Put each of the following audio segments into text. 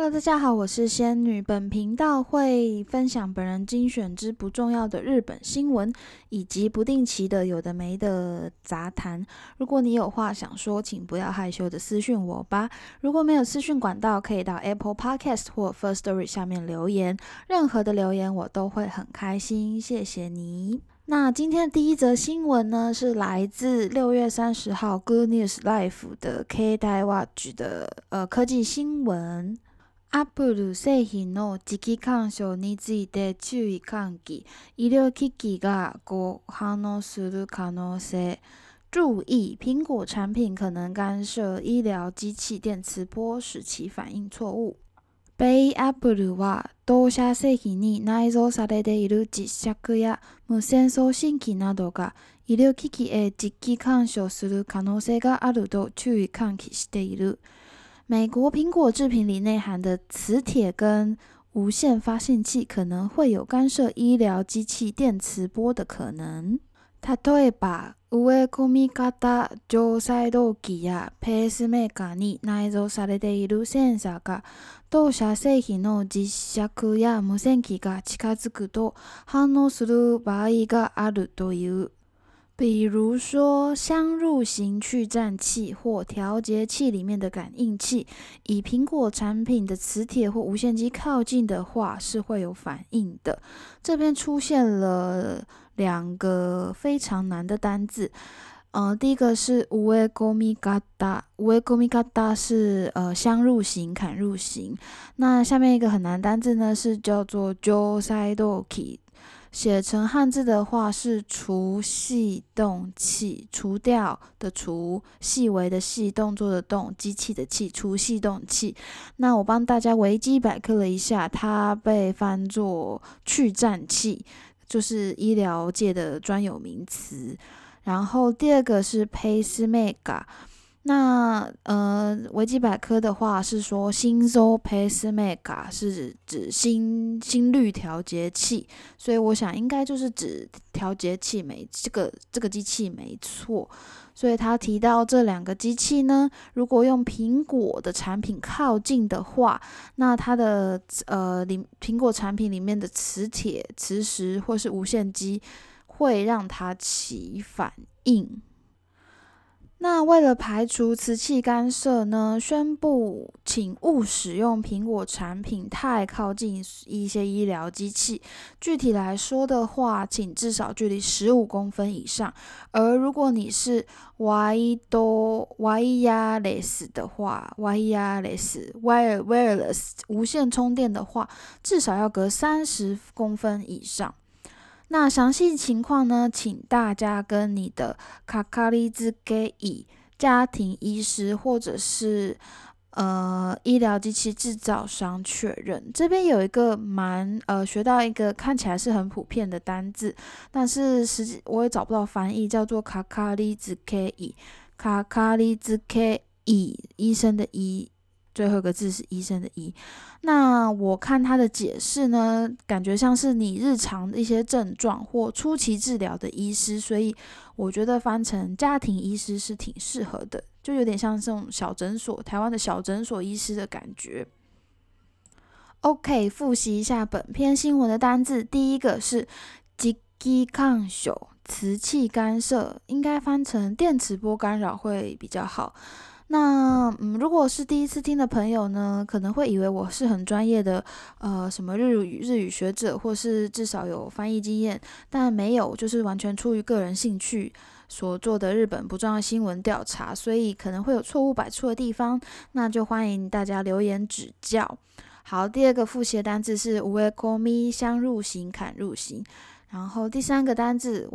Hello，大家好，我是仙女。本频道会分享本人精选之不重要的日本新闻，以及不定期的有的没的杂谈。如果你有话想说，请不要害羞的私讯我吧。如果没有私讯管道，可以到 Apple Podcast 或 Firstory 下面留言，任何的留言我都会很开心，谢谢你。那今天的第一则新闻呢，是来自6月30号 Good News Life 的 K-Dai Watch 的科技新闻。Apple 製品の磁気干渉について注意喚起、医療機器が誤反応する可能性。注意，苹果产品可能干涉医療機器電磁波，使其反應錯誤。米 Apple は同社製品に内蔵されている磁石や無線送信機などが医療機器へ磁気干渉する可能性があると注意喚起している。美国苹果制品里内含的磁铁跟无线发信器可能会有干涉医疗机器電磁波的可能。例えば、植え込み型常細動器やペースメーカーに内蔵されているセンサーが同社製品の磁石や無線機が近づくと反応する場合があるという。比如说相入型去颤器或调节器里面的感应器，以苹果产品的磁铁或无线机靠近的话是会有反应的。这边出现了2个非常难的单字。第一个是植え込み型，植え込み型是相入型、砍入型。那下面一个很难单字呢是叫做常細動器。写成汉字的话是除细动器，除掉的除，细微的细，动作的动，机器的器，除细动器。那我帮大家维基百科了一下，它被翻作去颤器，就是医疗界的专有名词。然后第二个是 pacemaker。那维基百科的话是说心周 pacemaker 是指心率调节器，所以我想应该就是指调节器这个机器没错。所以他提到这2个机器呢，如果用苹果的产品靠近的话，那它的苹果产品里面的磁铁、磁石或是无线机会让它起反应。那为了排除磁器干涉呢，宣布请勿使用苹果产品太靠近一些医疗机器。具体来说的话，请至少距离15公分以上。而如果你是 wireless 的话 wireless 无线充电的话，至少要隔30公分以上。那详细情况呢，请大家跟你的かかりつけ医、家庭医师或者是医疗机器制造商确认。这边有一个学到一个看起来是很普遍的单字，但是实际我也找不到翻译，叫做かかりつけ医。かかりつけ医，医生的医。最后一个字是医生的医。那我看他的解释呢，感觉像是你日常的一些症状或初期治疗的医师，所以我觉得翻成家庭医师是挺适合的，就有点像这种小诊所，台湾的小诊所医师的感觉。OK， 复习一下本篇新闻的单字，第一个是磁気干渉，磁器干涉，应该翻成电磁波干扰会比较好。那如果是第一次听的朋友呢，可能会以为我是很专业的什么日语学者，或是至少有翻译经验，但没有，就是完全出于个人兴趣所做的日本不重要新闻调查，所以可能会有错误百出的地方，那就欢迎大家留言指教。好，第二个复习的单字是植え込み，相入型、砍入型。然后第3个单字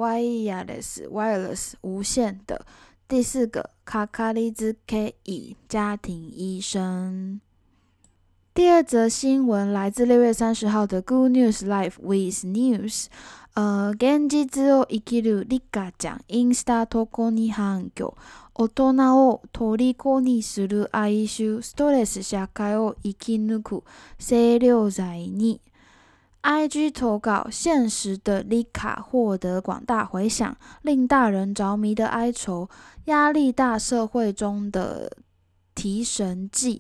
wireless 无线的。第4个かかりつけ医，家庭医生。第2则新聞来自6月30号的 Good News Life with News。現実を生きるリカちゃん、インスタ投稿に反響。大人を虜にする哀愁、ストレス社会を生き抜く清涼剤に。IG 投稿现实的 Lika 获得广大回响，令大人着迷的哀愁，压力大社会中的提神剂。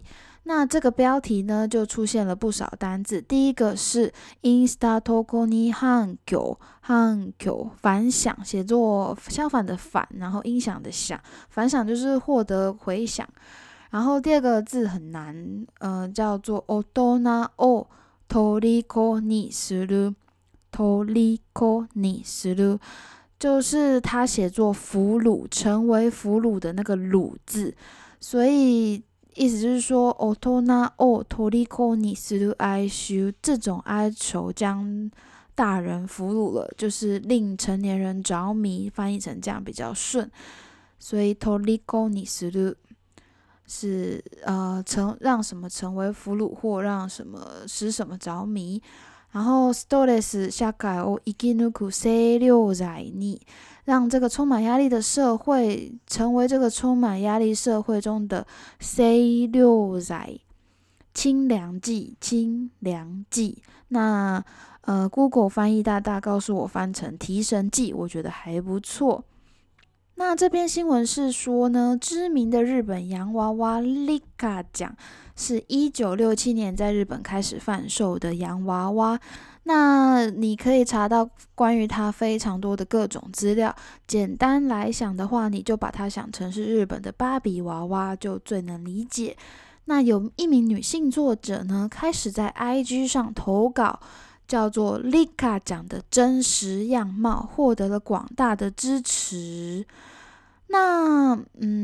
那这个标题呢，就出现了不少单字。第一个是 Insta Toko ni hankyo 反响，写作相反的反，然后音响的响，反响就是获得回响。然后第二个字很难，叫做 Otona o Toriko ni suru，Toriko ni suru，就是它写作俘虏，成为俘虏的那个虏字，所以意思就是说 Otona o Toriko ni suru aishu， 这种哀愁将大人俘虏了，就是令成年人着迷，翻译成这样比较顺。所以 Toriko ni suru是让什么成为俘虏，或让什么使什么着迷。然后 stress 社会を生き抜く清涼剤に，让这个充满压力的社会成为这个充满压力社会中的清涼剤，清凉剂，清凉剂。那Google 翻译大大告诉我翻成提神剂，我觉得还不错。那这篇新闻是说呢，知名的日本洋娃娃 Rika 奖是1967年在日本开始贩售的洋娃娃。那你可以查到关于它非常多的各种资料。简单来想的话，你就把它想成是日本的芭比娃娃，就最能理解。那有一名女性作者呢，开始在 IG 上投稿，叫做 Rika 奖的真实样貌，获得了广大的支持。那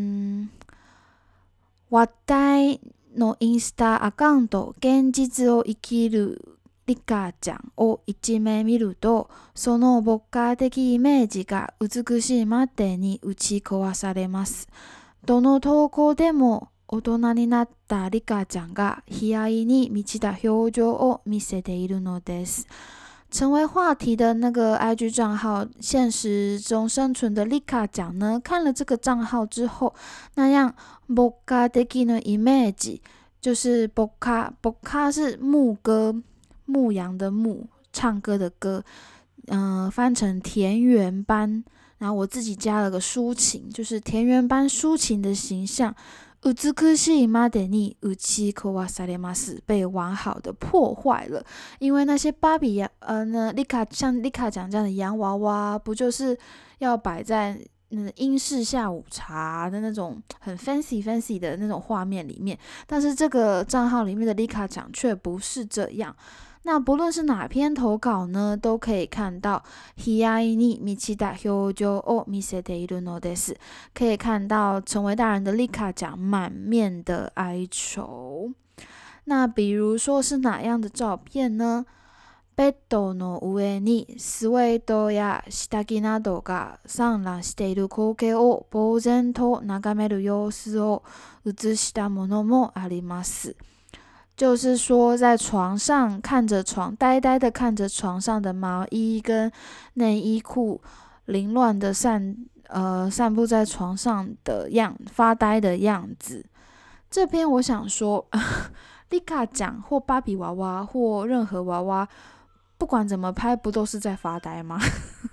話題のインスタアカウント現実を生きるリカちゃんを一面見ると、その牧歌的イメージが美しいまでに打ち壊されます。どの投稿でも大人になったリカちゃんが悲哀に満ちた表情を見せているのです。成为话题的那个 IG 账号，现实中生存的 Rika 讲呢，看了这个账号之后，那样 Boka deki no image， 就是 Boka 是牧歌，牧羊的牧，唱歌的歌，翻成田园般，然后我自己加了个抒情，就是田园般抒情的形象。美しいまでに打ち壊されます，被完好的破坏了。因为那些芭比像丽卡讲这样的洋娃娃，不就是要摆在英式下午茶的那种很 fancy 的那种画面里面？但是这个账号里面的丽卡讲却不是这样。那不论是哪篇投稿呢，都可以看到悲哀に満ちた表情を見せているのです。可以看到成为大人的丽卡讲满面的哀愁。那比如说是哪样的照片呢？ベッドの上にスウェードや下着などが散乱している光景を呆然と眺める様子を写したものもあります。就是说在床上看着床，呆呆的看着床上的毛衣跟内衣裤凌乱的散布在床上的发呆的样子。这篇我想说Rika 讲或芭比娃娃或任何娃娃，不管怎么拍，不都是在发呆吗？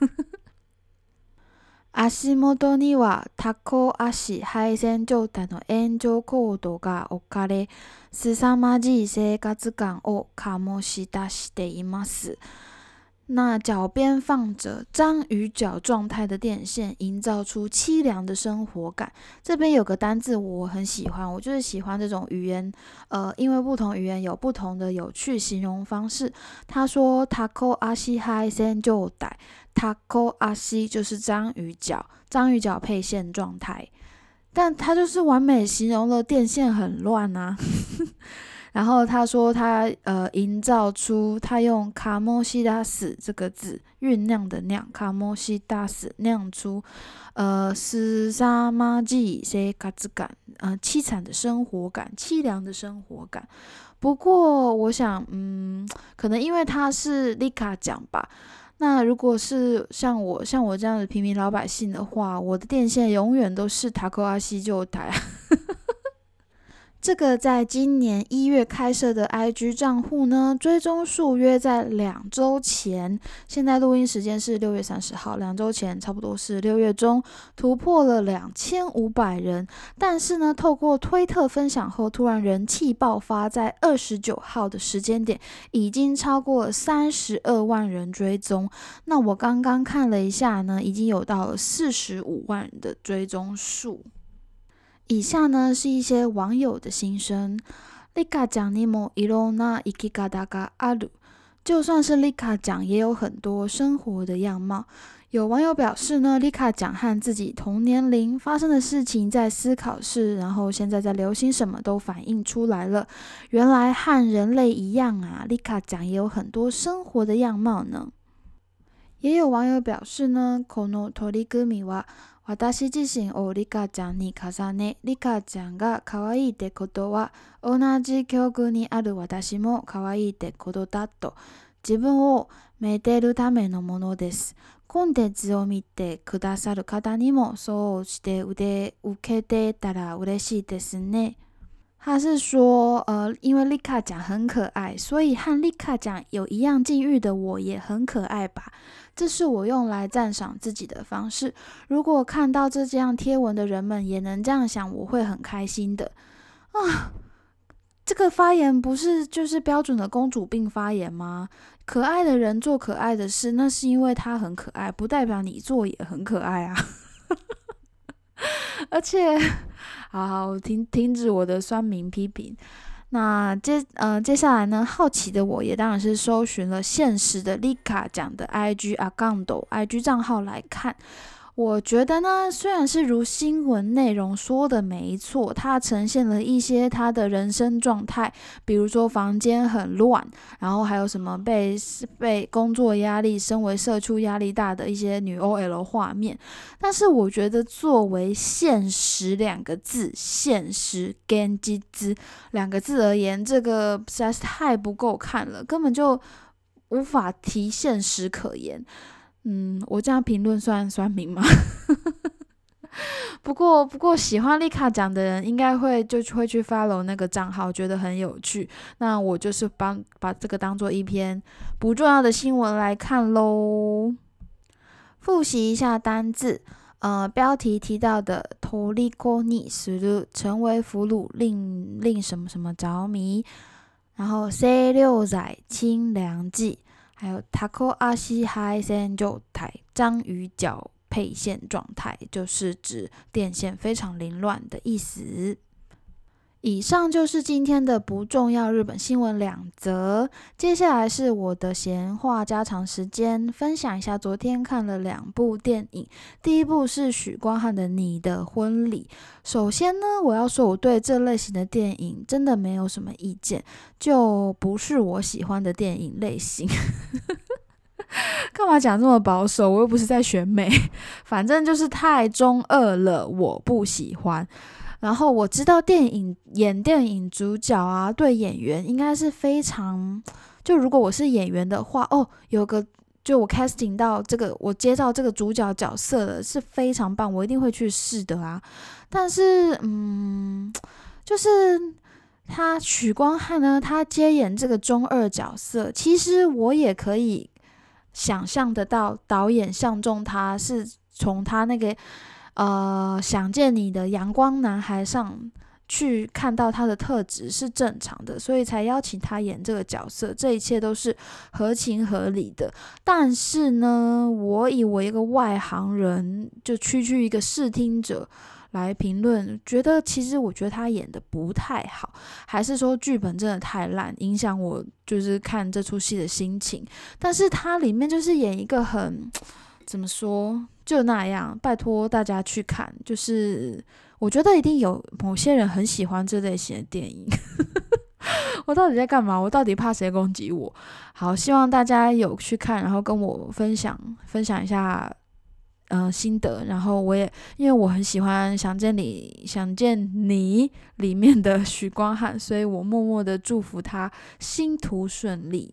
足元にはタコ足配線状態の炎上コードが置かれ、凄まじい生活感を醸し出しています。那脚边放着章鱼脚状态的电线，营造出凄凉的生活感。这边有个单字我很喜欢，我就是喜欢这种语言，因为不同语言有不同的有趣形容方式。他说 "Taco ashi hai sen 就带 "Taco ashi 就是章鱼脚，章鱼脚配线状态，但它就是完美形容了电线很乱啊。然后他说他营造出，他用卡莫西达斯这个字酝酿的酿，卡莫西达斯酿出斯沙马吉塞卡兹感，凄惨的生活感，凄凉的生活感。不过我想可能因为他是丽卡讲吧，那如果是像我这样的平民老百姓的话，我的电线永远都是塔科阿西就台。 这个在今年1月开设的 IG 账户呢，追踪数约在2周前，现在录音时间是6月30号，2周前差不多是6月中，突破了2500人。但是呢，透过推特分享后，突然人气爆发，在29号的时间点，已经超过了32万人追踪。那我刚刚看了一下呢，已经有到了45万人的追踪数。以下呢是一些网友的心声。リカちゃんにもいろんな生き方がある。就算是リカちゃん，也有很多生活的样貌。有网友表示呢，リカちゃん和自己同年龄发生的事情在思考是，然后现在在流行什么都反映出来了。原来和人类一样啊，リカちゃん也有很多生活的样貌呢。也有网友表示呢，この取り組みは私自身をリカちゃんに重ね、リカちゃんが可愛いってことは、同じ境遇にある私も可愛いってことだと、自分をめでるためのものです。コンテンツを見てくださる方にもそうして受けてたら嬉しいですね。他是说，因为丽卡讲很可爱，所以和丽卡讲有一样境遇的我也很可爱吧。这是我用来赞赏自己的方式。如果看到这样贴文的人们也能这样想，我会很开心的。啊，这个发言不是就是标准的公主病发言吗？可爱的人做可爱的事，那是因为他很可爱，不代表你做也很可爱啊。而且，好，停止我的酸民批评。那接下来呢，好奇的我也当然是搜寻了现实的丽卡讲的 IG account、IG 账号来看。我觉得呢，虽然是如新闻内容说的没错，它呈现了一些他的人生状态，比如说房间很乱，然后还有什么被工作压力、身为社畜压力大的一些女 OL 画面。但是我觉得作为现实2个字，现实跟机资2个字而言，这个实在是太不够看了，根本就无法提现实可言。我这样评论算酸民吗？不过喜欢丽卡讲的人应该会去 follow 那个账号，觉得很有趣。那我就是把这个当做一篇不重要的新闻来看咯。复习一下单字，标题提到的トリコにする成为俘虏，令什么什么着迷，然后清涼剤清凉剂。还有タコ足配線状態，章鱼脚配线状态，就是指电线非常凌乱的意思。以上就是今天的不重要日本新闻2则，接下来是我的闲话家常时间，分享一下昨天看了2部电影。第一部是许光汉的《你的婚礼》。首先呢，我要说我对这类型的电影真的没有什么意见，就不是我喜欢的电影类型。干嘛讲这么保守？我又不是在选美，反正就是太中二了，我不喜欢。然后我知道演电影主角啊，对演员应该是非常，就如果我是演员的话，就我 casting 到这个，我接到这个主角角色了，是非常棒，我一定会去试的啊。但是就是许光汉呢，他接演这个中二角色，其实我也可以想象得到，导演相中他是从他那个想见你的阳光男孩上去看到他的特质是正常的，所以才邀请他演这个角色，这一切都是合情合理的。但是呢，我以为一个外行人，就区一个视听者来评论，我觉得他演的不太好，还是说剧本真的太烂，影响我就是看这出戏的心情。但是他里面就是演一个很怎么说，就那样，拜托大家去看。就是我觉得一定有某些人很喜欢这类型的电影。我到底在干嘛？我到底怕谁攻击我？好，希望大家有去看，然后跟我分享一下心得。然后我也因为我很喜欢想见你里面的许光汉，所以我默默的祝福他星途顺利。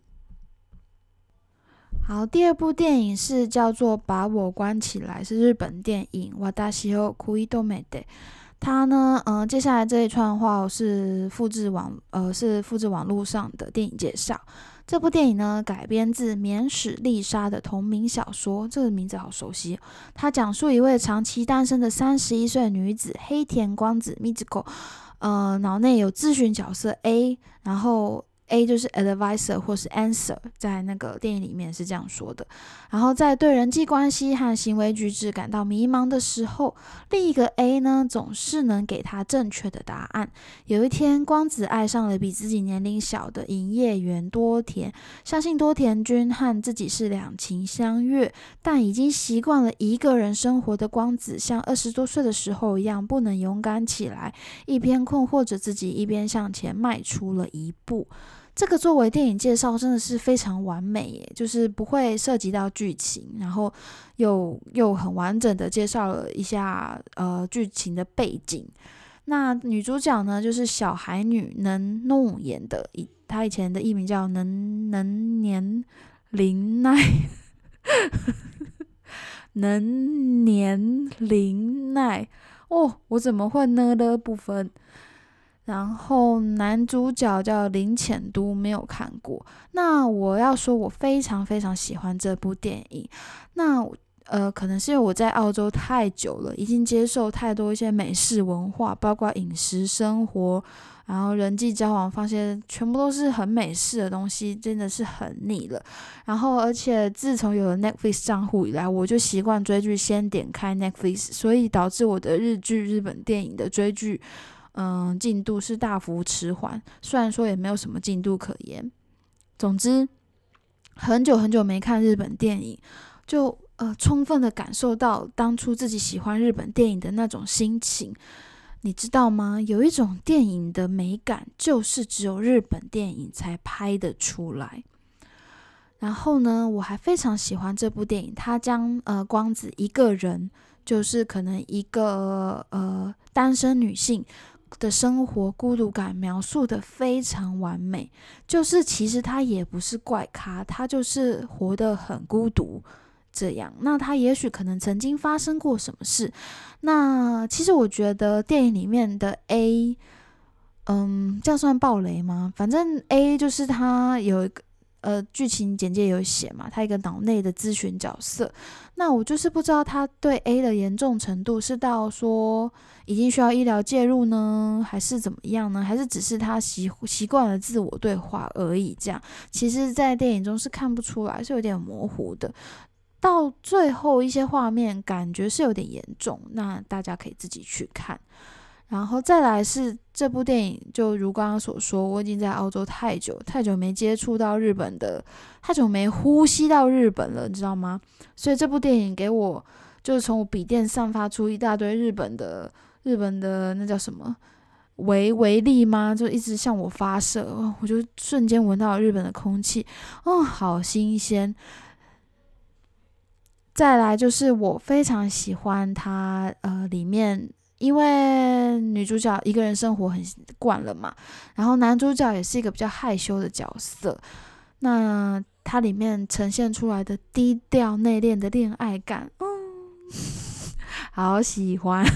好，第2部电影是叫做《把我关起来》，是日本电影。私を食い止めて。 他呢，接下来这一串话是复制网络上的电影介绍。这部电影呢改编自免史丽莎的同名小说，这个名字好熟悉。它讲述一位长期单身的31岁女子黑田光子 Mitsuko，脑内有咨询角色 A， 然后 A 就是 advisor 或是 answer， 在那个电影里面是这样说的。然后在对人际关系和行为举止感到迷茫的时候，另一个 A 呢总是能给他正确的答案。有一天，光子爱上了比自己年龄小的营业员多田，相信多田君和自己是两情相悦，但已经习惯了一个人生活的光子，像20多岁的时候一样，不能勇敢起来，一边困惑着自己，一边向前迈出了一步。这个作为电影介绍真的是非常完美耶，就是不会涉及到剧情，然后又很完整的介绍了一下剧情的背景。那女主角呢，就是小孩女能弄演的，她以前的艺名叫能年玲奈，能年玲奈哦，我怎么会呢的部分？然后男主角叫林浅都，没有看过。那我要说，我非常非常喜欢这部电影。那可能是因为我在澳洲太久了，已经接受太多一些美式文化，包括饮食、生活，然后人际交往，发现全部都是很美式的东西，真的是很腻了。然后，而且自从有了 Netflix 账户以来，我就习惯追剧先点开 Netflix， 所以导致我的日本电影的追剧。进度是大幅迟缓，虽然说也没有什么进度可言。总之，很久很久没看日本电影，就充分的感受到当初自己喜欢日本电影的那种心情。你知道吗？有一种电影的美感，就是只有日本电影才拍得出来。然后呢，我还非常喜欢这部电影，它将光子一个人，就是可能一个单身女性的生活孤独感描述的非常完美，就是其实他也不是怪咖，他就是活得很孤独这样。那他也许可能曾经发生过什么事。那其实我觉得电影里面的 A， 这样算爆雷吗？反正 A 就是他有一个剧情简介有写嘛，他一个脑内的咨询角色。那我就是不知道他对 A 的严重程度是到说已经需要医疗介入呢，还是怎么样呢？还是只是他习惯了自我对话而已？这样其实在电影中是看不出来，是有点模糊的。到最后一些画面感觉是有点严重，那大家可以自己去看。然后再来是这部电影，就如刚刚所说，我已经在澳洲太久没接触到日本的，太久没呼吸到日本了，你知道吗？所以这部电影给我就是从我笔电散发出一大堆日本的那叫什么微粒吗？就一直向我发射，我就瞬间闻到了日本的空气，好新鲜。再来就是我非常喜欢它里面。因为女主角一个人生活很惯了嘛，然后男主角也是一个比较害羞的角色，那它里面呈现出来的低调内敛的恋爱感，好喜欢。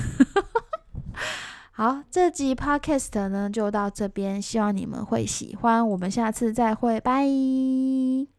好，这集 podcast 呢就到这边，希望你们会喜欢，我们下次再会，拜。